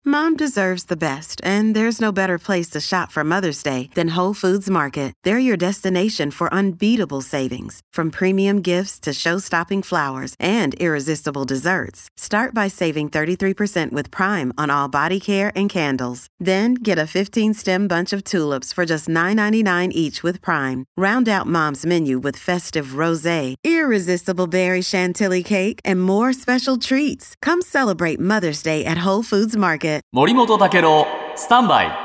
Mom deserves the best, and there's no better place to shop for Mother's Day than Whole Foods Market. They're your destination for unbeatable savings, from premium gifts to show-stopping flowers and irresistible desserts. Start by saving 33% with Prime on all body care and candles. Then get a 15-stem bunch of tulips for just $9.99 each with Prime. Round out Mom's menu with festive rosé, irresistible berry chantilly cake, and more special treats. Come celebrate Mother's Day at Whole Foods Market. 森本武郎スタンバイ。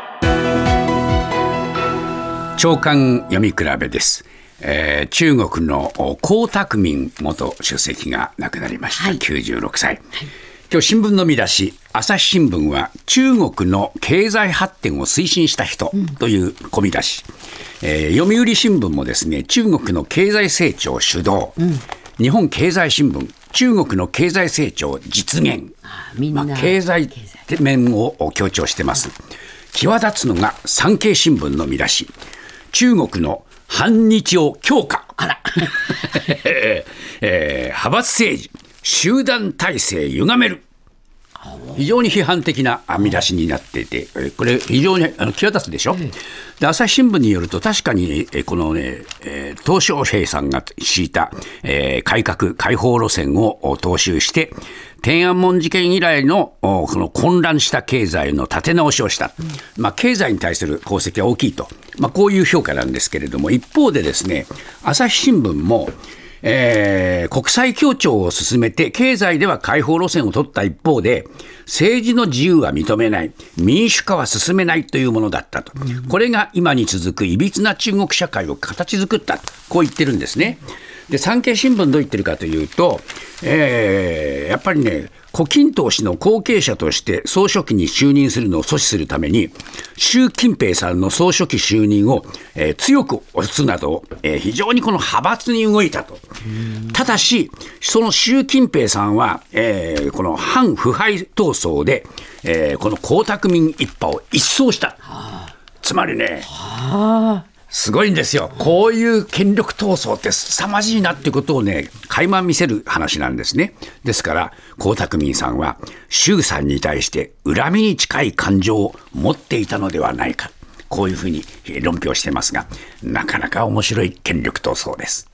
朝刊読み比べです。中国の江沢民元主席が亡くなりました、96歳、今日新聞の見出し、朝日新聞は中国の経済発展を推進した人という込み出し、読売新聞もですね、中国の経済成長主導、日本経済新聞、中国の経済成長実現、経済面を強調してます。際立つのが産経新聞の見出し、中国の反日を強化派閥政治、集団体制歪める。非常に批判的な見出しになっていて、これ非常に際立つでしょ。で、朝日新聞によると、確かにこのね、鄧小平さんが敷いた、改革開放路線を踏襲して、天安門事件以来のこの混乱した経済の立て直しをした、経済に対する功績は大きいと、こういう評価なんですけれども、一方でですね、朝日新聞も国際協調を進めて経済では開放路線を取った一方で、政治の自由は認めない、民主化は進めないというものだったと、これが今に続くいびつな中国社会を形作ったと、こう言ってるんですね。で、産経新聞どう言ってるかというと、やっぱりね、胡錦涛氏の後継者として総書記に就任するのを阻止するために、習近平さんの総書記就任を、強く推すなど、非常にこの派閥に動いたと。ただし、その習近平さんは、この反腐敗闘争で、この江沢民一派を一掃した。つまりね、すごいんですよ。こういう権力闘争って凄まじいなっていうことをね、垣間見せる話なんですね。ですから江沢民さんは習さんに対して恨みに近い感情を持っていたのではないか、こういうふうに論評してますが、なかなか面白い権力闘争です。